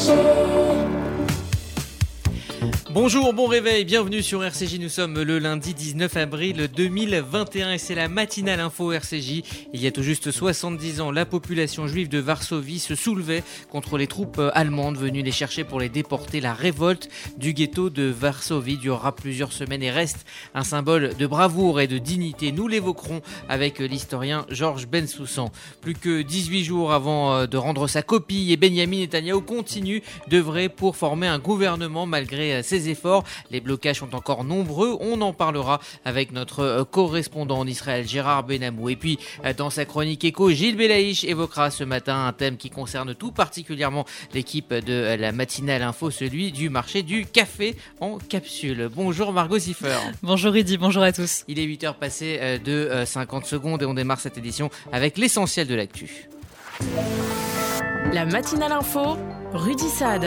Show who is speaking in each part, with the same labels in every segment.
Speaker 1: Bonjour, bon réveil, bienvenue sur RCJ, nous sommes le lundi 19 avril 2021 et c'est la matinale info RCJ. Il y a tout juste 70 ans, la population juive de Varsovie se soulevait contre les troupes allemandes venues les chercher pour les déporter. La révolte du ghetto de Varsovie durera plusieurs semaines et reste un symbole de bravoure et de dignité. Nous l'évoquerons avec l'historien Georges Bensoussan. Plus que 18 jours avant de rendre sa copie et Benyamin Netanyahou continue d'œuvrer pour former un gouvernement malgré ses efforts. Les blocages sont encore nombreux. On en parlera avec notre correspondant en Israël, Gérard Benamou. Et puis, dans sa chronique éco, Gilles Belaïch évoquera ce matin un thème qui concerne tout particulièrement l'équipe de la matinale info, celui du marché du café en capsule. Bonjour Margot Siffer.
Speaker 2: Bonjour Rudy, bonjour à tous.
Speaker 1: Il est 8h passé de 50 secondes et on démarre cette édition avec l'essentiel de l'actu.
Speaker 3: La matinale info, Rudy Saad.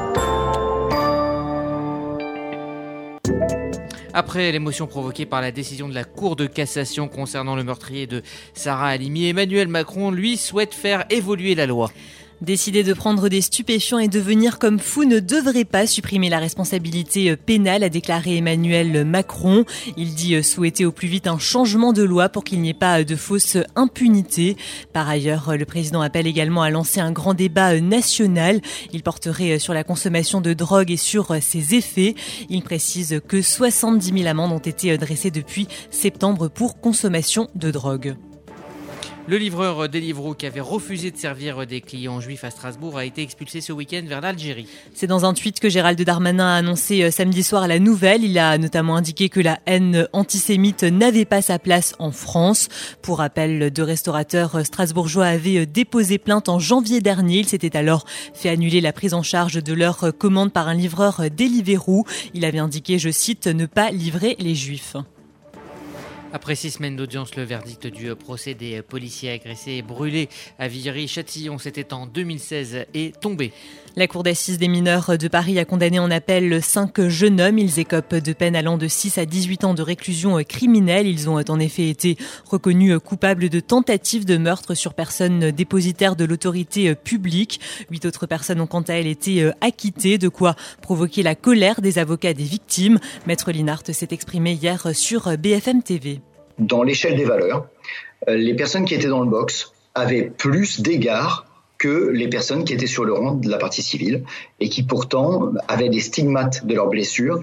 Speaker 1: Après l'émotion provoquée par la décision de la Cour de cassation concernant le meurtrier de Sarah Halimi, Emmanuel Macron, lui, souhaite faire évoluer la loi.
Speaker 2: Décider de prendre des stupéfiants et devenir comme fou ne devrait pas supprimer la responsabilité pénale, a déclaré Emmanuel Macron. Il dit souhaiter au plus vite un changement de loi pour qu'il n'y ait pas de fausse impunité. Par ailleurs, le président appelle également à lancer un grand débat national. Il porterait sur la consommation de drogue et sur ses effets. Il précise que 70 000 amendes ont été dressées depuis septembre pour consommation de drogue.
Speaker 1: Le livreur Deliveroo qui avait refusé de servir des clients juifs à Strasbourg a été expulsé ce week-end vers l'Algérie.
Speaker 2: C'est dans un tweet que Gérald Darmanin a annoncé samedi soir la nouvelle. Il a notamment indiqué que la haine antisémite n'avait pas sa place en France. Pour rappel, deux restaurateurs strasbourgeois avaient déposé plainte en janvier dernier. Il s'était alors fait annuler la prise en charge de leur commande par un livreur Deliveroo. Il avait indiqué, je cite, ne pas livrer les juifs.
Speaker 1: Après 6 semaines d'audience, le verdict du procès des policiers agressés et brûlés à Viry-Châtillon, c'était en 2016, est tombé.
Speaker 2: La cour d'assises des mineurs de Paris a condamné en appel 5 jeunes hommes. Ils écopent de peines allant de 6 à 18 ans de réclusion criminelle. Ils ont en effet été reconnus coupables de tentative de meurtre sur personne dépositaire de l'autorité publique. 8 autres personnes ont quant à elles été acquittées, de quoi provoquer la colère des avocats des victimes. Maître Linhart s'est exprimé hier sur BFM TV.
Speaker 4: Dans l'échelle des valeurs, les personnes qui étaient dans le box avaient plus d'égards que les personnes qui étaient sur le rang de la partie civile et qui pourtant avaient des stigmates de leurs blessures.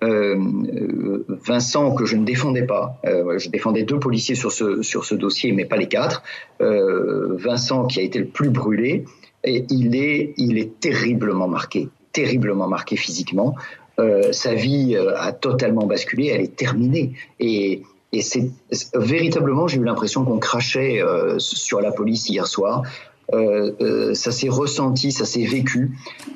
Speaker 4: Vincent, que je ne défendais pas, je défendais 2 policiers sur ce dossier, mais pas les 4. Vincent, qui a été le plus brûlé, et il est terriblement marqué physiquement. Sa vie a totalement basculé, elle est terminée. Et c'est véritablement, j'ai eu l'impression qu'on crachait sur la police hier soir. Ça s'est ressenti, ça s'est vécu.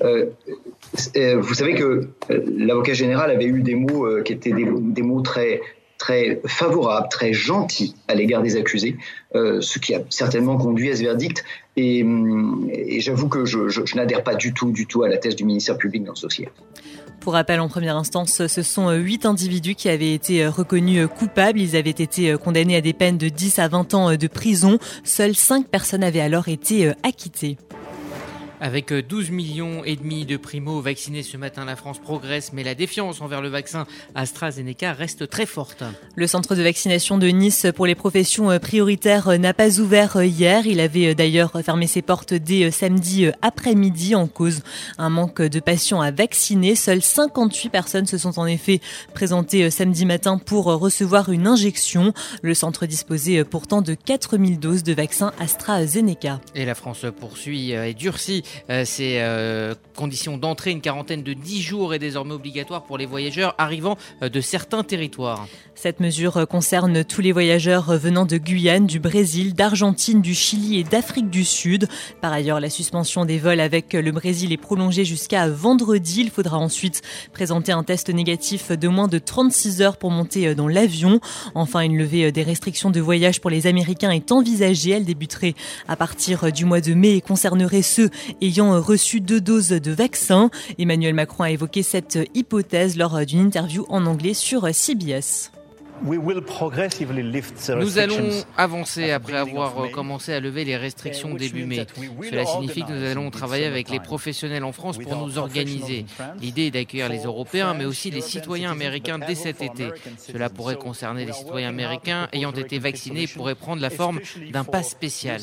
Speaker 4: Vous savez que l'avocat général avait eu des mots qui étaient des mots très très favorables, très gentils à l'égard des accusés, ce qui a certainement conduit à ce verdict. Et j'avoue que je n'adhère pas du tout à la thèse du ministère public dans ce dossier.
Speaker 2: Pour rappel, en première instance, ce sont 8 individus qui avaient été reconnus coupables. Ils avaient été condamnés à des peines de 10 à 20 ans de prison. Seules 5 personnes avaient alors été acquittées.
Speaker 1: Avec 12,5 millions de primo-vaccinés ce matin, la France progresse, mais la défiance envers le vaccin AstraZeneca reste très forte.
Speaker 2: Le centre de vaccination de Nice pour les professions prioritaires n'a pas ouvert hier. Il avait d'ailleurs fermé ses portes dès samedi après-midi en cause un manque de patients à vacciner. Seules 58 personnes se sont en effet présentées samedi matin pour recevoir une injection. Le centre disposait pourtant de 4000 doses de vaccin AstraZeneca.
Speaker 1: Et la France poursuit et durcit ces conditions d'entrée. Une quarantaine de 10 jours est désormais obligatoire pour les voyageurs arrivant de certains territoires.
Speaker 2: Cette mesure concerne tous les voyageurs venant de Guyane, du Brésil, d'Argentine, du Chili et d'Afrique du Sud. Par ailleurs, la suspension des vols avec le Brésil est prolongée jusqu'à vendredi. Il faudra ensuite présenter un test négatif de moins de 36 heures pour monter dans l'avion. Enfin, une levée des restrictions de voyage pour les Américains est envisagée. Elle débuterait à partir du mois de mai et concernerait ceux ayant reçu 2 doses de vaccin. Emmanuel Macron a évoqué cette hypothèse lors d'une interview en anglais sur CBS.
Speaker 1: Nous allons avancer après avoir commencé à lever les restrictions début mai. Cela signifie que nous allons travailler avec les professionnels en France pour nous organiser. L'idée est d'accueillir les Européens, mais aussi les citoyens américains dès cet été. Cela pourrait concerner les citoyens américains ayant été vaccinés et pourrait prendre la forme d'un pass spécial.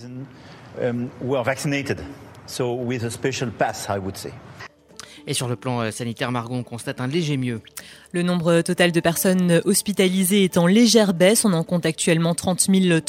Speaker 1: Et sur le plan sanitaire, Margot, on constate un léger mieux.
Speaker 2: Le nombre total de personnes hospitalisées est en légère baisse. On en compte actuellement 30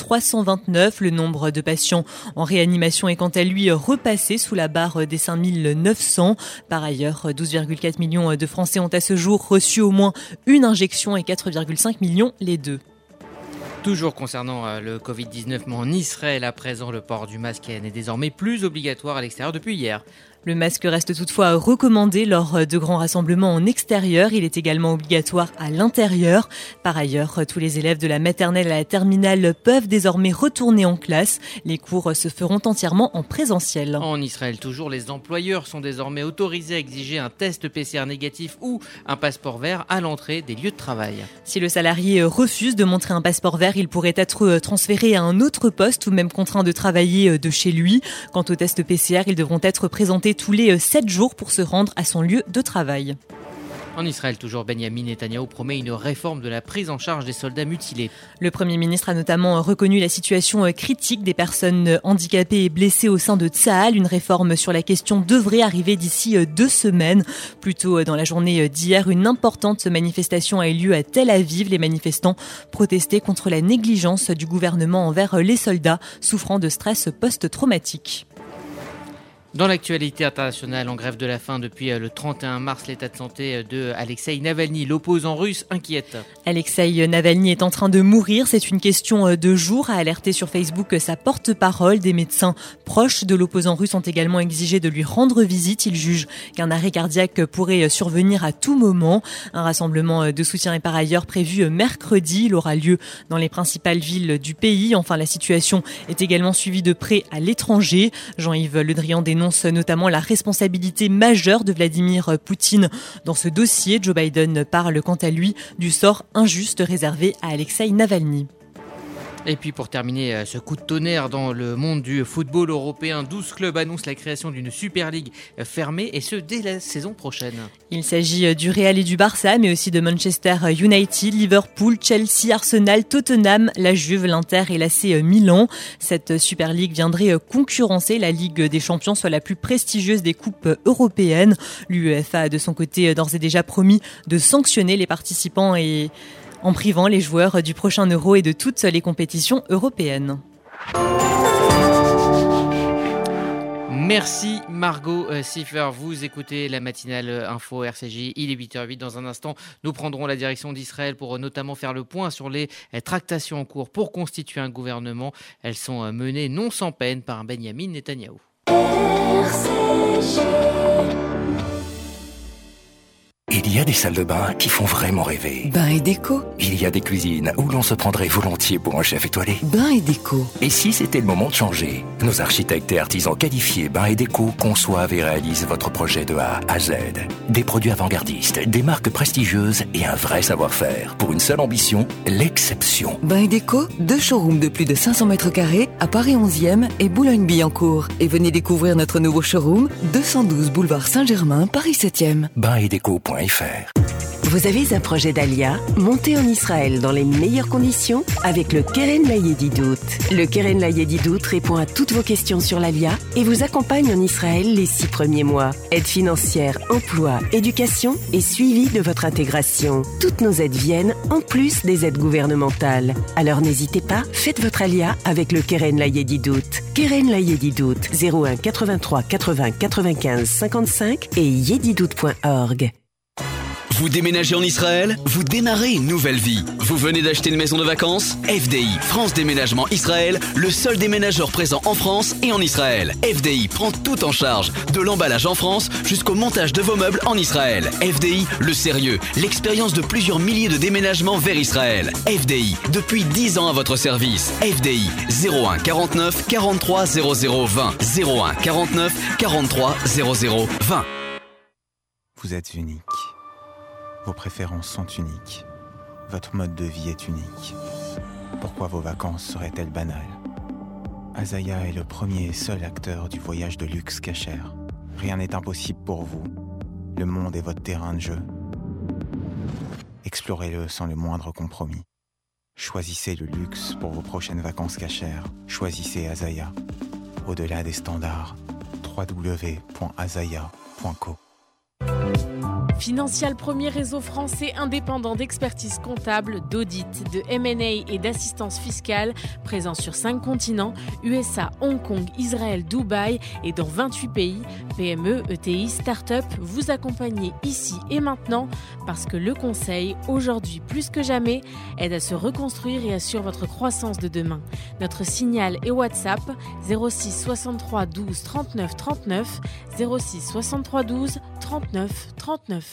Speaker 2: 329. Le nombre de patients en réanimation est quant à lui repassé sous la barre des 5 900. Par ailleurs, 12,4 millions de Français ont à ce jour reçu au moins une injection et 4,5 millions les deux.
Speaker 1: Toujours concernant le Covid-19, mais en Israël à présent, le port du masque n'est désormais plus obligatoire à l'extérieur depuis hier.
Speaker 2: Le masque reste toutefois recommandé lors de grands rassemblements en extérieur. Il est également obligatoire à l'intérieur. Par ailleurs, tous les élèves de la maternelle à la terminale peuvent désormais retourner en classe. Les cours se feront entièrement en présentiel.
Speaker 1: En Israël, toujours, les employeurs sont désormais autorisés à exiger un test PCR négatif ou un passeport vert à l'entrée des lieux de travail.
Speaker 2: Si le salarié refuse de montrer un passeport vert, il pourrait être transféré à un autre poste ou même contraint de travailler de chez lui. Quant aux tests PCR, ils devront être présentés tous les 7 jours pour se rendre à son lieu de travail.
Speaker 1: En Israël, toujours, Benyamin Netanyahou promet une réforme de la prise en charge des soldats mutilés.
Speaker 2: Le Premier ministre a notamment reconnu la situation critique des personnes handicapées et blessées au sein de Tsahal. Une réforme sur la question devrait arriver d'ici 2 semaines. Plus tôt dans la journée d'hier, une importante manifestation a eu lieu à Tel Aviv. Les manifestants protestaient contre la négligence du gouvernement envers les soldats souffrant de stress post-traumatique.
Speaker 1: Dans l'actualité internationale, en grève de la faim depuis le 31 mars, l'état de santé de Alexeï Navalny, l'opposant russe, inquiète.
Speaker 2: Alexeï Navalny est en train de mourir, c'est une question de jours, a alerté sur Facebook sa porte-parole. Des médecins proches de l'opposant russe ont également exigé de lui rendre visite. Ils jugent qu'un arrêt cardiaque pourrait survenir à tout moment. Un rassemblement de soutien est par ailleurs prévu mercredi. Il aura lieu dans les principales villes du pays. Enfin, la situation est également suivie de près à l'étranger. Jean-Yves Le Drian dénonce notamment la responsabilité majeure de Vladimir Poutine dans ce dossier. Joe Biden parle quant à lui du sort injuste réservé à Alexeï Navalny.
Speaker 1: Et puis pour terminer ce coup de tonnerre dans le monde du football européen, 12 clubs annoncent la création d'une Super League fermée et ce dès la saison prochaine.
Speaker 2: Il s'agit du Real et du Barça, mais aussi de Manchester United, Liverpool, Chelsea, Arsenal, Tottenham, la Juve, l'Inter et l'AC Milan. Cette Super League viendrait concurrencer la Ligue des Champions, soit la plus prestigieuse des coupes européennes. L'UEFA a de son côté d'ores et déjà promis de sanctionner les participants et en privant les joueurs du prochain Euro et de toutes les compétitions européennes.
Speaker 1: Merci Margot Siffer, vous écoutez la matinale info RCJ, il est 8h08. Dans un instant, nous prendrons la direction d'Israël pour notamment faire le point sur les tractations en cours pour constituer un gouvernement. Elles sont menées non sans peine par Benyamin Netanyahou.
Speaker 5: Il y a des salles de bain qui font vraiment rêver.
Speaker 6: Bain et déco.
Speaker 5: Il y a des cuisines où l'on se prendrait volontiers pour un chef étoilé.
Speaker 6: Bain et déco.
Speaker 5: Et si c'était le moment de changer? Nos architectes et artisans qualifiés Bain et Déco conçoivent et réalisent votre projet de A à Z. Des produits avant-gardistes, des marques prestigieuses et un vrai savoir-faire. Pour une seule ambition, l'exception.
Speaker 6: Bain et Déco, 2 showrooms de plus de 500 mètres carrés à Paris 11e et Boulogne-Billancourt. Et venez découvrir notre nouveau showroom, 212 boulevard Saint-Germain, Paris 7e.
Speaker 5: Bainetdeco.fr.
Speaker 7: Vous avez un projet d'Alia? Montez en Israël dans les meilleures conditions avec le Keren Layedidout. Le Keren Layedidout répond à toutes vos questions sur l'Alia et vous accompagne en Israël les 6 premiers mois. Aide financière, emploi, éducation et suivi de votre intégration. Toutes nos aides viennent en plus des aides gouvernementales. Alors n'hésitez pas, faites votre Alia avec le Keren Layedidout. Keren Layedidout, 01 83 80 95 55 et yedidout.org.
Speaker 8: Vous déménagez en Israël? Vous démarrez une nouvelle vie. Vous venez d'acheter une maison de vacances? FDI, France Déménagement Israël, le seul déménageur présent en France et en Israël. FDI prend tout en charge, de l'emballage en France jusqu'au montage de vos meubles en Israël. FDI, le sérieux, l'expérience de plusieurs milliers de déménagements vers Israël. FDI, depuis 10 ans à votre service. FDI, 01 49 43 00 20. 01 49 43 00 20.
Speaker 9: Vous êtes unique. Vos préférences sont uniques. Votre mode de vie est unique. Pourquoi vos vacances seraient-elles banales? Azaya est le premier et seul acteur du voyage de luxe Kasher. Rien n'est impossible pour vous. Le monde est votre terrain de jeu. Explorez-le sans le moindre compromis. Choisissez le luxe pour vos prochaines vacances Kasher. Choisissez Azaya. Au-delà des standards, www.azaya.co.
Speaker 3: Financial, premier réseau français indépendant d'expertise comptable, d'audit, de M&A et d'assistance fiscale, présent sur 5 continents, USA, Hong Kong, Israël, Dubaï et dans 28 pays. PME, ETI, start-up, vous accompagnez ici et maintenant parce que le conseil, aujourd'hui plus que jamais, aide à se reconstruire et assure votre croissance de demain. Notre signal et WhatsApp 06 63 12 39 39, 06 63 12 39 39.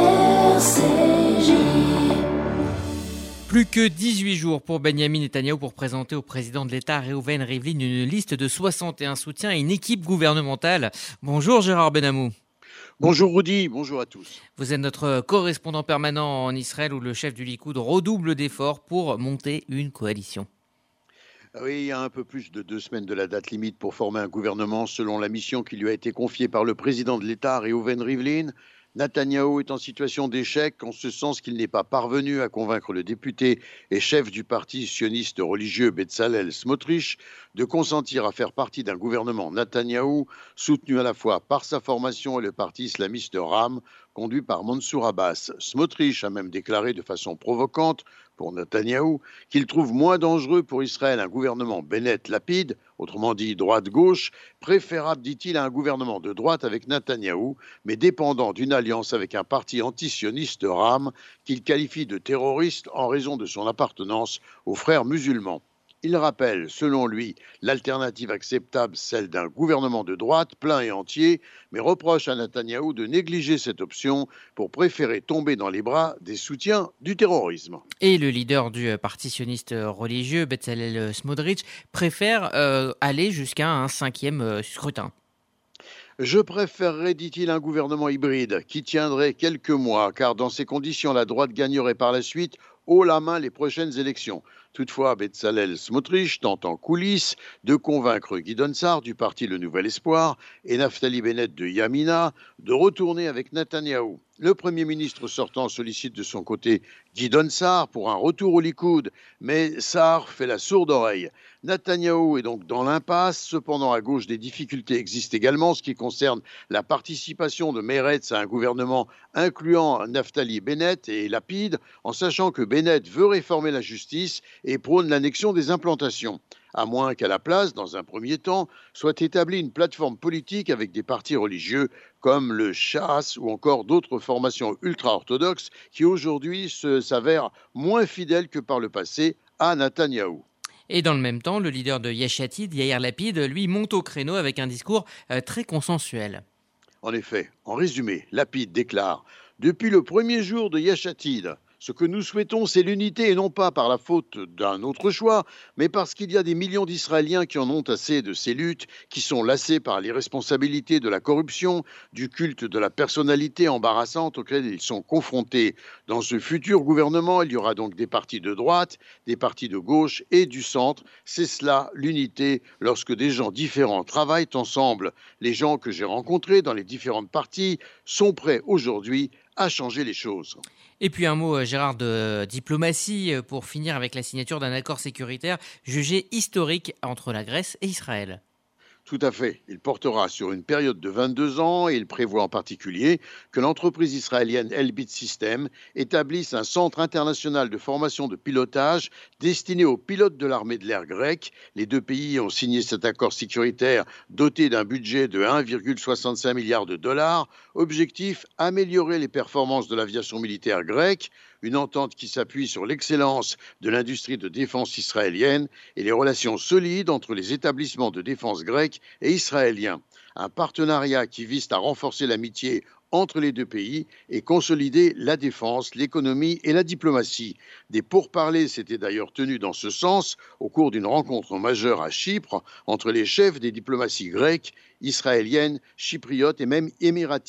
Speaker 1: Plus que 18 jours pour Benyamin Netanyahou pour présenter au président de l'État, Reuven Rivlin, une liste de 61 soutiens et une équipe gouvernementale. Bonjour Gérard Benamou.
Speaker 10: Bonjour Rudy, bonjour à tous.
Speaker 1: Vous êtes notre correspondant permanent en Israël où le chef du Likoud redouble d'efforts pour monter une coalition.
Speaker 10: Oui, il y a un peu plus de 2 semaines de la date limite pour former un gouvernement selon la mission qui lui a été confiée par le président de l'État, Reuven Rivlin. Netanyahou est en situation d'échec en ce sens qu'il n'est pas parvenu à convaincre le député et chef du parti sioniste religieux Betzalel Smotrich de consentir à faire partie d'un gouvernement Netanyahou soutenu à la fois par sa formation et le parti islamiste RAM conduit par Mansour Abbas. Smotrich a même déclaré de façon provocante pour Netanyahou qu'il trouve moins dangereux pour Israël un gouvernement Bennett-Lapid, autrement dit droite-gauche, préférable, dit-il, à un gouvernement de droite avec Netanyahou, mais dépendant d'une alliance avec un parti antisioniste RAM qu'il qualifie de terroriste en raison de son appartenance aux frères musulmans. Il rappelle, selon lui, l'alternative acceptable, celle d'un gouvernement de droite plein et entier, mais reproche à Netanyahou de négliger cette option pour préférer tomber dans les bras des soutiens du terrorisme.
Speaker 1: Et le leader du parti sioniste religieux, Betzalel Smotrich, préfère aller jusqu'à un 5e scrutin.
Speaker 10: Je préférerais, dit-il, un gouvernement hybride qui tiendrait quelques mois, car dans ces conditions, la droite gagnerait par la suite haut la main les prochaines élections. Toutefois, Betzalel Smotrich tente en coulisses de convaincre Gideon Sa'ar du parti Le Nouvel Espoir et Naftali Bennett de Yamina de retourner avec Netanyahou. Le Premier ministre sortant sollicite de son côté Gideon Sa'ar pour un retour au Likoud, mais Sa'ar fait la sourde oreille. Netanyahou est donc dans l'impasse. Cependant, à gauche, des difficultés existent également, ce qui concerne la participation de Meretz à un gouvernement incluant Naftali Bennett et Lapid, en sachant que Bennett veut réformer la justice et prône l'annexion des implantations, à moins qu'à la place, dans un premier temps, soit établie une plateforme politique avec des partis religieux comme le Shas ou encore d'autres formations ultra-orthodoxes qui aujourd'hui s'avèrent moins fidèles que par le passé à Netanyahou.
Speaker 1: Et dans le même temps, le leader de Yesh Atid, Yair Lapid, lui monte au créneau avec un discours très consensuel.
Speaker 10: En effet, en résumé, Lapid déclare « Depuis le premier jour de Yesh Atid, ce que nous souhaitons, c'est l'unité, et non pas par la faute d'un autre choix, mais parce qu'il y a des millions d'Israéliens qui en ont assez de ces luttes, qui sont lassés par l'irresponsabilité de la corruption, du culte de la personnalité embarrassante auquel ils sont confrontés. Dans ce futur gouvernement, il y aura donc des partis de droite, des partis de gauche et du centre. C'est cela, l'unité, lorsque des gens différents travaillent ensemble. Les gens que j'ai rencontrés dans les différentes parties sont prêts aujourd'hui à changer les choses. »
Speaker 1: Et puis un mot, Gérard, de diplomatie pour finir avec la signature d'un accord sécuritaire jugé historique entre la Grèce et Israël.
Speaker 10: Tout à fait. Il portera sur une période de 22 ans et il prévoit en particulier que l'entreprise israélienne Elbit Systems établisse un centre international de formation de pilotage destiné aux pilotes de l'armée de l'air grecque. Les deux pays ont signé cet accord sécuritaire doté d'un budget de 1,65 milliard de dollars. Objectif, améliorer les performances de l'aviation militaire grecque. Une entente qui s'appuie sur l'excellence de l'industrie de défense israélienne et les relations solides entre les établissements de défense grecs et israéliens. Un partenariat qui vise à renforcer l'amitié entre les deux pays et consolider la défense, l'économie et la diplomatie. Des pourparlers s'étaient d'ailleurs tenus dans ce sens au cours d'une rencontre majeure à Chypre entre les chefs des diplomaties grecques, israéliennes, chypriotes et même émiraties.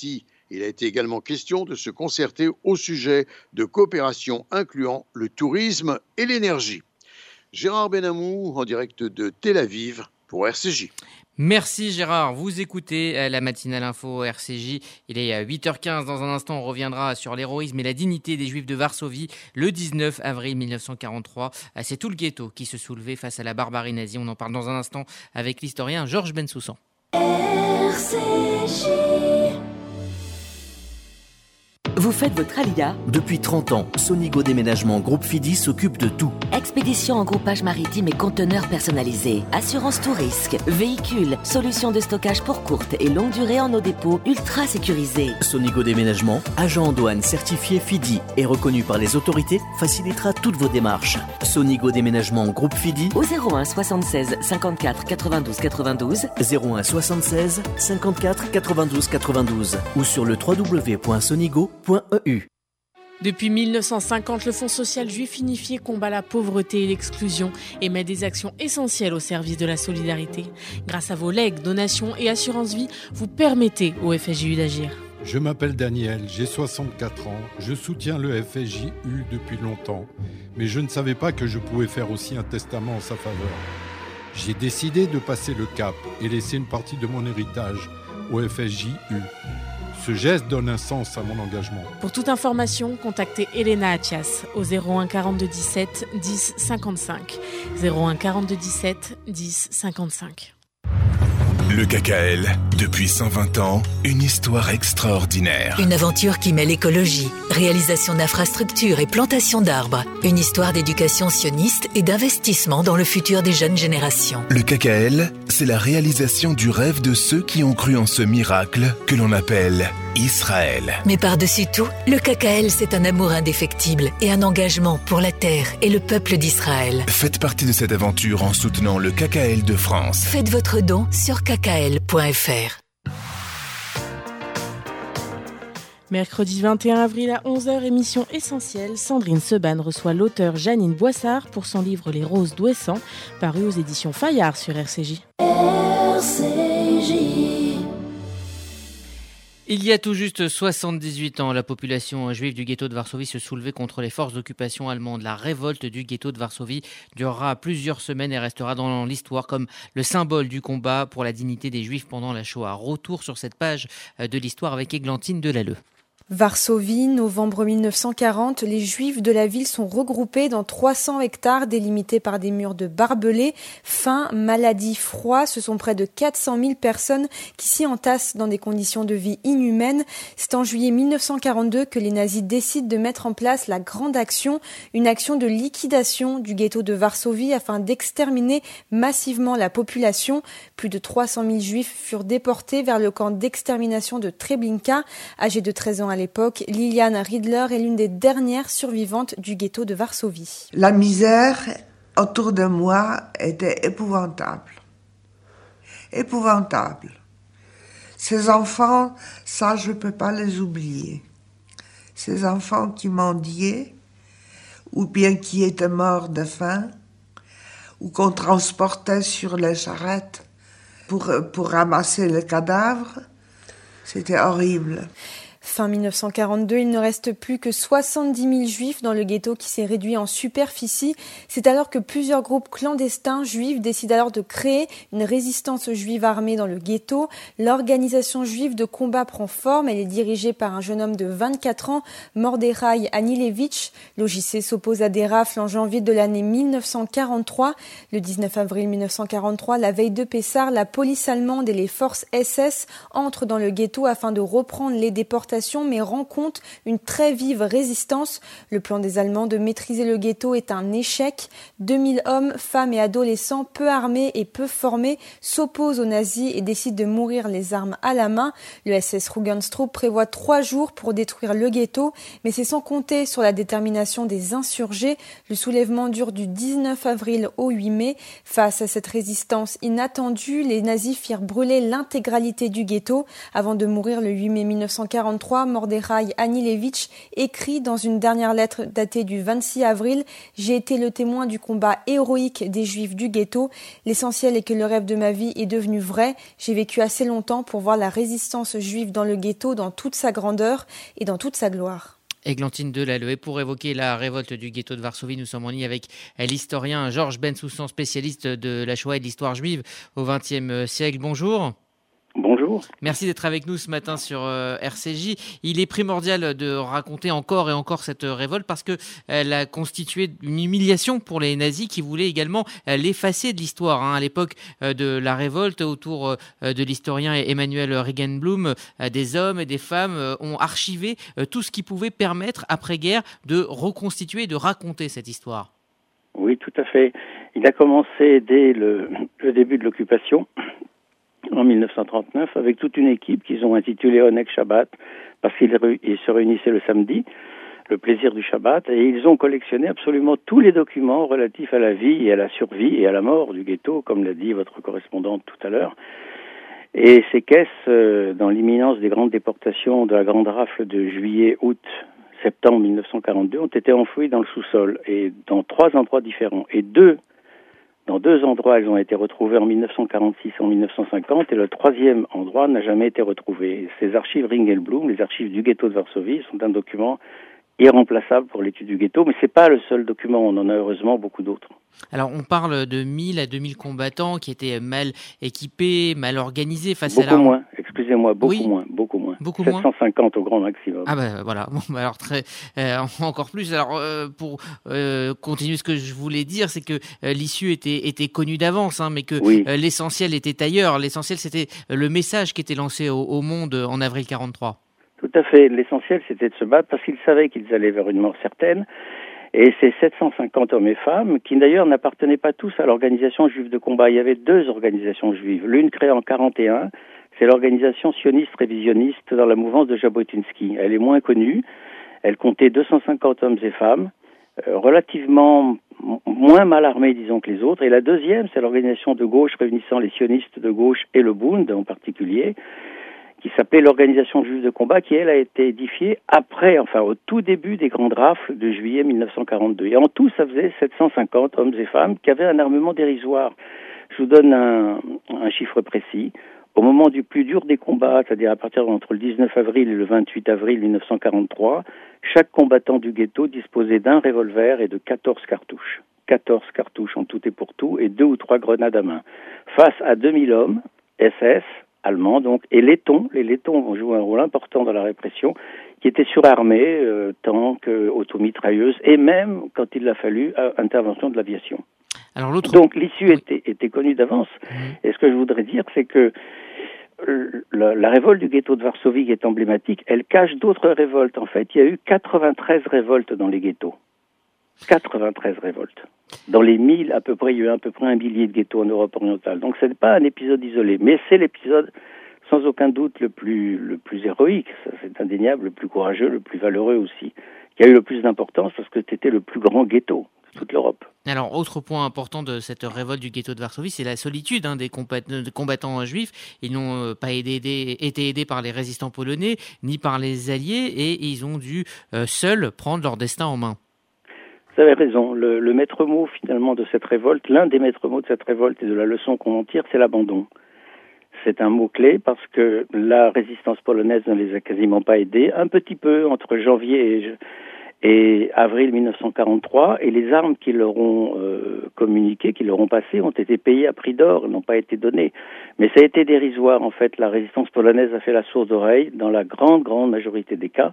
Speaker 10: Il a été également question de se concerter au sujet de coopération incluant le tourisme et l'énergie. Gérard Benamou en direct de Tel Aviv pour RCJ.
Speaker 1: Merci Gérard, vous écoutez la matinale info RCJ, il est 8h15, dans un instant on reviendra sur l'héroïsme et la dignité des Juifs de Varsovie le 19 avril 1943. C'est tout le ghetto qui se soulevait face à la barbarie nazie, on en parle dans un instant avec l'historien Georges Bensoussan.
Speaker 7: RCJ. Vous faites votre alia?
Speaker 11: Depuis 30 ans, Sonigo Déménagement Groupe Fidi s'occupe de tout.
Speaker 7: Expédition en groupage maritime et conteneurs personnalisés. Assurance tout risque. Véhicules. Solutions de stockage pour courte et longue durée en nos dépôts ultra sécurisés.
Speaker 11: Sonigo Déménagement, agent en douane certifié Fidi et reconnu par les autorités, facilitera toutes vos démarches. Sonigo Déménagement Groupe Fidi
Speaker 7: au 01 76 54 92 92
Speaker 11: 01 76 54 92 92 ou sur le www.sonigo.eu.
Speaker 3: Depuis 1950, le Fonds social juif unifié combat la pauvreté et l'exclusion et met des actions essentielles au service de la solidarité. Grâce à vos legs, donations et assurances vie, vous permettez au FSJU d'agir.
Speaker 12: Je m'appelle Daniel, j'ai 64 ans, je soutiens le FSJU depuis longtemps, mais je ne savais pas que je pouvais faire aussi un testament en sa faveur. J'ai décidé de passer le cap et laisser une partie de mon héritage au FSJU. Ce geste donne un sens à mon engagement.
Speaker 3: Pour toute information, contactez Elena Atias au 01 42 17 10 55. 01 42 17 10 55.
Speaker 13: Le KKL, depuis 120 ans, une histoire extraordinaire.
Speaker 14: Une aventure qui mêle écologie, réalisation d'infrastructures et plantation d'arbres. Une histoire d'éducation sioniste et d'investissement dans le futur des jeunes générations.
Speaker 13: Le KKL, c'est la réalisation du rêve de ceux qui ont cru en ce miracle que l'on appelle Israël.
Speaker 14: Mais par-dessus tout, le KKL, c'est un amour indéfectible et un engagement pour la terre et le peuple d'Israël.
Speaker 13: Faites partie de cette aventure en soutenant le KKL de France.
Speaker 14: Faites votre don sur kkl.fr.
Speaker 3: Mercredi 21 avril à 11h, émission essentielle. Sandrine Seban reçoit l'auteure Janine Boissard pour son livre Les Roses d'Ouessant, paru aux éditions Fayard sur RCJ.
Speaker 1: Il y a tout juste 78 ans, la population juive du ghetto de Varsovie se soulevait contre les forces d'occupation allemandes. La révolte du ghetto de Varsovie durera plusieurs semaines et restera dans l'histoire comme le symbole du combat pour la dignité des Juifs pendant la Shoah. Retour sur cette page de l'histoire avec Églantine Delalleux.
Speaker 15: Varsovie, novembre 1940, les Juifs de la ville sont regroupés dans 300 hectares délimités par des murs de barbelés. Faim, maladie, froid, ce sont près de 400 000 personnes qui s'y entassent dans des conditions de vie inhumaines. C'est en juillet 1942 que les nazis décident de mettre en place la Grande Action, une action de liquidation du ghetto de Varsovie afin d'exterminer massivement la population. Plus de 300 000 Juifs furent déportés vers le camp d'extermination de Treblinka. Âgée de 13 ans à l'époque, Liliane Riedler est l'une des dernières survivantes du ghetto de Varsovie.
Speaker 16: La misère autour de moi était épouvantable. Épouvantable. Ces enfants, ça je ne peux pas les oublier. Ces enfants qui mendiaient, ou bien qui étaient morts de faim, ou qu'on transportait sur les charrettes pour ramasser les cadavres, c'était horrible.
Speaker 15: Fin 1942, il ne reste plus que 70 000 juifs dans le ghetto qui s'est réduit en superficie. C'est alors que plusieurs groupes clandestins juifs décident alors de créer une résistance juive armée dans le ghetto. L'organisation juive de combat prend forme. Elle est dirigée par un jeune homme de 24 ans, Mordechai Anilevitch. L'OJC s'oppose à des rafles en janvier de l'année 1943. Le 19 avril 1943, la veille de Pessah, la police allemande et les forces SS entrent dans le ghetto afin de reprendre les déportations, mais rencontre une très vive résistance. Le plan des Allemands de maîtriser le ghetto est un échec. 2000 hommes, femmes et adolescents peu armés et peu formés s'opposent aux nazis et décident de mourir les armes à la main. Le SS Rugenstrup prévoit 3 jours pour détruire le ghetto, mais c'est sans compter sur la détermination des insurgés. Le soulèvement dure du 19 avril au 8 mai. Face à cette résistance inattendue, les nazis firent brûler l'intégralité du ghetto avant de mourir le 8 mai 1943 1943, Mordechai Anilevitch écrit dans une dernière lettre datée du 26 avril « J'ai été le témoin du combat héroïque des Juifs du ghetto. L'essentiel est que le rêve de ma vie est devenu vrai. J'ai vécu assez longtemps pour voir la résistance juive dans le ghetto dans toute sa grandeur et dans toute sa gloire. »
Speaker 1: Églantine Delalleux. Et pour évoquer la révolte du ghetto de Varsovie, nous sommes en ligne avec l'historien Georges Bensoussan, spécialiste de la Shoah et de l'histoire juive au XXe siècle. Bonjour.
Speaker 17: Bonjour.
Speaker 1: Merci d'être avec nous ce matin sur RCJ. Il est primordial de raconter encore et encore cette révolte parce qu'elle a constitué une humiliation pour les nazis qui voulaient également l'effacer de l'histoire. À l'époque de la révolte, autour de l'historien Emmanuel Regenblum, des hommes et des femmes ont archivé tout ce qui pouvait permettre, après-guerre, de reconstituer et de raconter cette histoire.
Speaker 17: Oui, tout à fait. Il a commencé dès le début de l'occupation, en 1939, avec toute une équipe qu'ils ont intitulée Oneg Shabbat, parce qu'ils se réunissaient le samedi, le plaisir du Shabbat, et ils ont collectionné absolument tous les documents relatifs à la vie et à la survie et à la mort du ghetto, comme l'a dit votre correspondante tout à l'heure. Et ces caisses, dans l'imminence des grandes déportations de la grande rafle de juillet, août, septembre 1942, ont été enfouies dans le sous-sol, et dans 3 endroits différents, et dans 2 endroits, elles ont été retrouvées en 1946 et en 1950, et le 3e endroit n'a jamais été retrouvé. Ces archives Ringelblum, les archives du ghetto de Varsovie, sont un document irremplaçable pour l'étude du ghetto, mais c'est pas le seul document, on en a heureusement beaucoup d'autres.
Speaker 1: Alors on parle de 1000 à 2000 combattants qui étaient mal équipés, mal organisés face
Speaker 17: beaucoup
Speaker 1: à la...
Speaker 17: moins, excusez-moi, beaucoup
Speaker 1: oui.
Speaker 17: moins.
Speaker 1: Beaucoup
Speaker 17: 750 au grand maximum.
Speaker 1: Ah ben voilà, bon, alors encore plus. Alors pour continuer ce que je voulais dire, c'est que l'issue était connue d'avance, mais que l'essentiel était ailleurs. L'essentiel c'était le message qui était lancé au monde en avril 43.
Speaker 17: Tout à fait. L'essentiel, c'était de se battre parce qu'ils savaient qu'ils allaient vers une mort certaine. Et ces 750 hommes et femmes, qui d'ailleurs n'appartenaient pas tous à l'organisation juive de combat. Il y avait 2 organisations juives. L'une créée en 41, c'est l'organisation sioniste révisionniste dans la mouvance de Jabotinsky. Elle est moins connue. Elle comptait 250 hommes et femmes, relativement moins mal armés, disons, que les autres. Et la deuxième, c'est l'organisation de gauche réunissant les sionistes de gauche et le Bund en particulier, qui s'appelait l'Organisation juive de combat, qui, elle, a été édifiée au tout début des grandes rafles de juillet 1942. Et en tout, ça faisait 750 hommes et femmes qui avaient un armement dérisoire. Je vous donne un chiffre précis. Au moment du plus dur des combats, c'est-à-dire à partir entre le 19 avril et le 28 avril 1943, chaque combattant du ghetto disposait d'un revolver et de 14 cartouches. 14 cartouches en tout et pour tout, et 2 ou 3 grenades à main. Face à 2000 hommes, SS, allemands donc, et les lettons ont joué un rôle important dans la répression, qui étaient surarmés, tanks, automitrailleuses, et même, quand il l'a fallu, intervention de l'aviation. Donc l'issue était connue d'avance. Et ce que je voudrais dire, c'est que la révolte du ghetto de Varsovie, qui est emblématique, elle cache d'autres révoltes. En fait, il y a eu 93 révoltes dans les ghettos. 93 révoltes. Dans les 1000, à peu près, il y a eu à peu près 1 millier de ghettos en Europe orientale. Donc ce n'est pas un épisode isolé, mais c'est l'épisode sans aucun doute le plus héroïque, ça, c'est indéniable, le plus courageux, le plus valeureux aussi, qui a eu le plus d'importance parce que c'était le plus grand ghetto de toute l'Europe.
Speaker 1: Alors, autre point important de cette révolte du ghetto de Varsovie, c'est la solitude des combattants juifs. Ils n'ont pas été aidés par les résistants polonais, ni par les Alliés, et ils ont dû seuls prendre leur destin en main.
Speaker 17: Vous avez raison. Le maître mot, finalement, de cette révolte, l'un des maîtres mots de cette révolte et de la leçon qu'on en tire, c'est l'abandon. C'est un mot-clé parce que la résistance polonaise ne les a quasiment pas aidés. Un petit peu entre janvier et avril 1943, et les armes qu'ils leur ont communiquées, qu'ils leur ont passées, ont été payées à prix d'or, n'ont pas été données. Mais ça a été dérisoire, en fait. La résistance polonaise a fait la sourde oreille dans la grande majorité des cas.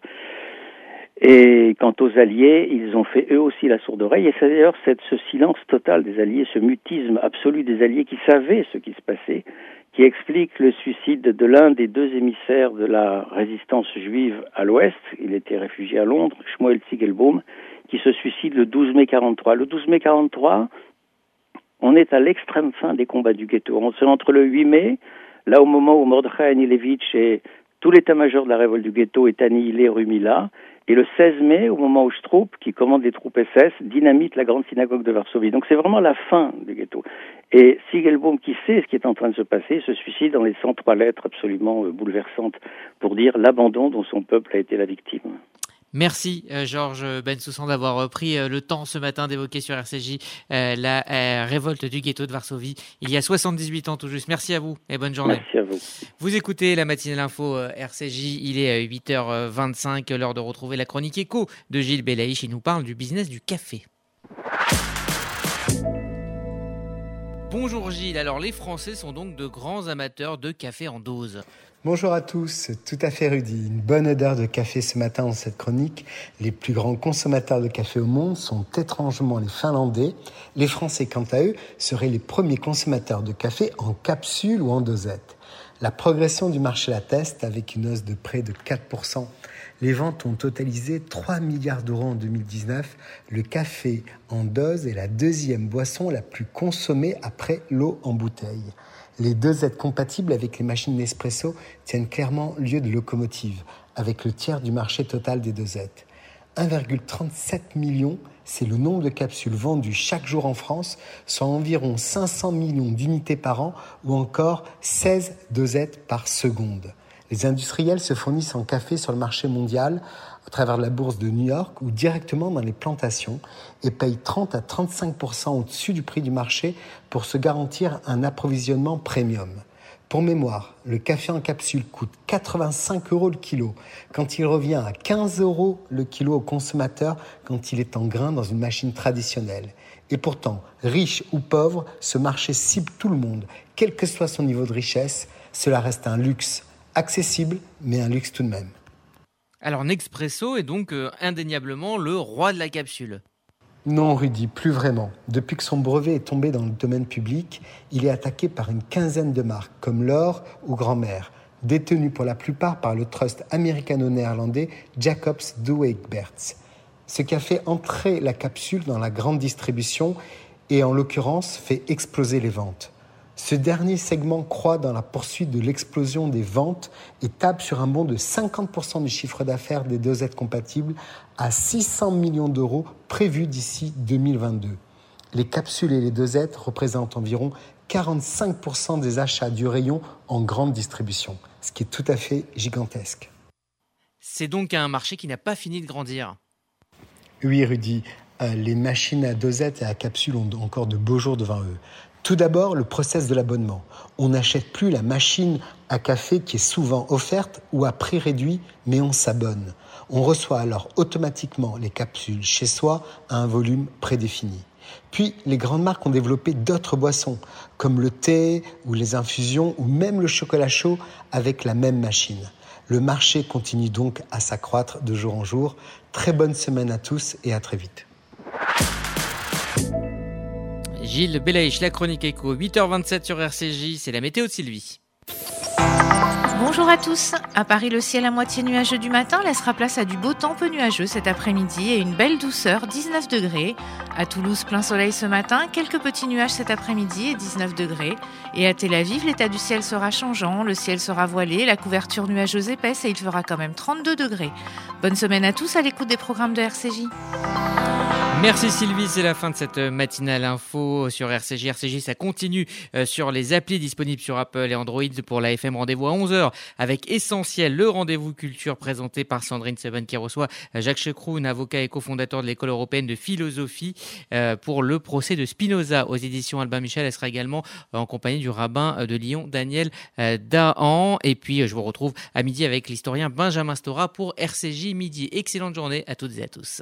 Speaker 17: Et quant aux Alliés, ils ont fait eux aussi la sourde oreille. Et c'est d'ailleurs ce silence total des Alliés, ce mutisme absolu des Alliés qui savaient ce qui se passait, qui explique le suicide de l'un des 2 émissaires de la résistance juive à l'Ouest. Il était réfugié à Londres, Shmuel Ziegelbaum, qui se suicide le 12 mai 43. Le 12 mai 43, on est à l'extrême fin des combats du ghetto. On est entre le 8 mai, là au moment où Mordechai Anilevitch est tout l'état-major de la révolte du ghetto est annihilé rue Mila. Et le 16 mai, au moment où Stroop, qui commande les troupes SS, dynamite la grande synagogue de Varsovie. Donc c'est vraiment la fin du ghetto. Et Sigelbaum, qui sait ce qui est en train de se passer, se suicide en laissant 3 lettres absolument bouleversantes pour dire l'abandon dont son peuple a été la victime.
Speaker 1: Merci Georges Bensoussan d'avoir pris le temps ce matin d'évoquer sur RCJ la révolte du ghetto de Varsovie il y a 78 ans tout juste. Merci à vous et bonne journée.
Speaker 17: Merci à vous.
Speaker 1: Vous écoutez la matinale info RCJ, il est 8h25, l'heure de retrouver la chronique éco de Gilles Belaïch. Il nous parle du business du café. Bonjour Gilles, alors les Français sont donc de grands amateurs de café en dose.
Speaker 18: Bonjour à tous, tout à fait Rudy. Une bonne odeur de café ce matin dans cette chronique. Les plus grands consommateurs de café au monde sont étrangement les Finlandais. Les Français, quant à eux, seraient les premiers consommateurs de café en capsule ou en dosette. La progression du marché l'atteste avec une hausse de près de 4%. Les ventes ont totalisé 3 milliards d'euros en 2019. Le café en dose est la deuxième boisson la plus consommée après l'eau en bouteille. Les dosettes compatibles avec les machines Nespresso tiennent clairement lieu de locomotive, avec le tiers du marché total des dosettes. 1,37 million, c'est le nombre de capsules vendues chaque jour en France, soit environ 500 millions d'unités par an ou encore 16 dosettes par seconde. Les industriels se fournissent en café sur le marché mondial à travers la bourse de New York ou directement dans les plantations et payent 30 à 35% au-dessus du prix du marché pour se garantir un approvisionnement premium. Pour mémoire, le café en capsule coûte 85 € le kilo, quand il revient à 15 € le kilo au consommateur quand il est en grain dans une machine traditionnelle. Et pourtant, riche ou pauvre, ce marché cible tout le monde, quel que soit son niveau de richesse. Cela reste un luxe, accessible, mais un luxe tout de même.
Speaker 1: Alors Nespresso est donc indéniablement le roi de la capsule.
Speaker 18: Non Rudy, plus vraiment. Depuis que son brevet est tombé dans le domaine public, il est attaqué par une quinzaine de marques, comme L'Or ou Grand-Mère, détenues pour la plupart par le trust américano-néerlandais Jacobs Douwe Egberts. Ce qui a fait entrer la capsule dans la grande distribution et en l'occurrence fait exploser les ventes. Ce dernier segment croît dans la poursuite de l'explosion des ventes et table sur un bond de 50% du chiffre d'affaires des dosettes compatibles à 600 millions d'euros prévus d'ici 2022. Les capsules et les dosettes représentent environ 45% des achats du rayon en grande distribution, ce qui est tout à fait gigantesque.
Speaker 1: C'est donc un marché qui n'a pas fini de grandir.
Speaker 18: Oui Rudy, les machines à dosettes et à capsules ont encore de beaux jours devant eux. Tout d'abord, le process de l'abonnement. On n'achète plus la machine à café qui est souvent offerte ou à prix réduit, mais on s'abonne. On reçoit alors automatiquement les capsules chez soi à un volume prédéfini. Puis, les grandes marques ont développé d'autres boissons, comme le thé ou les infusions ou même le chocolat chaud avec la même machine. Le marché continue donc à s'accroître de jour en jour. Très bonne semaine à tous et à très vite.
Speaker 1: Gilles Belaïch, la chronique éco, 8h27 sur RCJ, c'est la météo de Sylvie.
Speaker 19: Bonjour à tous. À Paris, le ciel à moitié nuageux du matin laissera place à du beau temps peu nuageux cet après-midi et une belle douceur, 19 degrés. À Toulouse, plein soleil ce matin, quelques petits nuages cet après-midi et 19 degrés. Et à Tel Aviv, l'état du ciel sera changeant, le ciel sera voilé, la couverture nuageuse épaisse et il fera quand même 32 degrés. Bonne semaine à tous à l'écoute des programmes de RCJ.
Speaker 1: Merci Sylvie, c'est la fin de cette matinale info sur RCJ. RCJ, ça continue sur les applis disponibles sur Apple et Android pour la FM. Rendez-vous à 11h avec Essentiel, le rendez-vous culture présenté par Sandrine Seban qui reçoit Jacques Checroun, avocat et cofondateur de l'École européenne de philosophie pour le procès de Spinoza aux éditions Albin Michel. Elle sera également en compagnie du rabbin de Lyon, Daniel Dahan. Et puis, je vous retrouve à midi avec l'historien Benjamin Stora pour RCJ Midi. Excellente journée à toutes et à tous.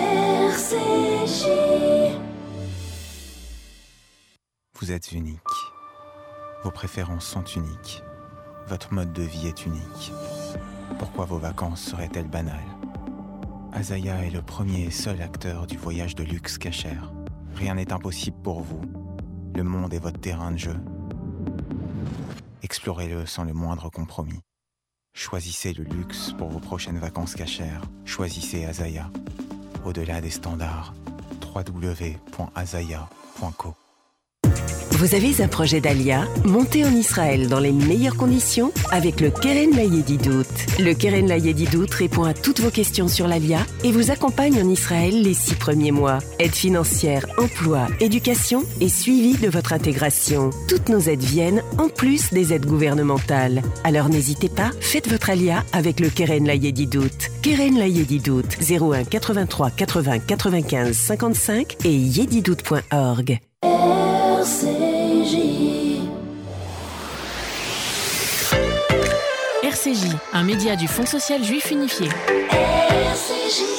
Speaker 9: Vous êtes unique. Vos préférences sont uniques. Votre mode de vie est unique. Pourquoi vos vacances seraient-elles banales ? Azaya est le premier et seul acteur du voyage de luxe cachère. Rien n'est impossible pour vous. Le monde est votre terrain de jeu. Explorez-le sans le moindre compromis. Choisissez le luxe pour vos prochaines vacances cachères. Choisissez Azaya. Au-delà des standards, www.azaya.co.
Speaker 7: Vous avez un projet d'Alia? Montez en Israël dans les meilleures conditions avec le Keren Layedidout. Le Keren Layedidout répond à toutes vos questions sur l'Alia et vous accompagne en Israël les 6 premiers mois. Aide financière, emploi, éducation et suivi de votre intégration. Toutes nos aides viennent en plus des aides gouvernementales. Alors n'hésitez pas, faites votre Alia avec le Keren Layedidout. Keren Layedidout, 01 83 80 95 55 et yedidout.org.
Speaker 3: RCJ, un média du Fonds social juif unifié.
Speaker 20: RCJ.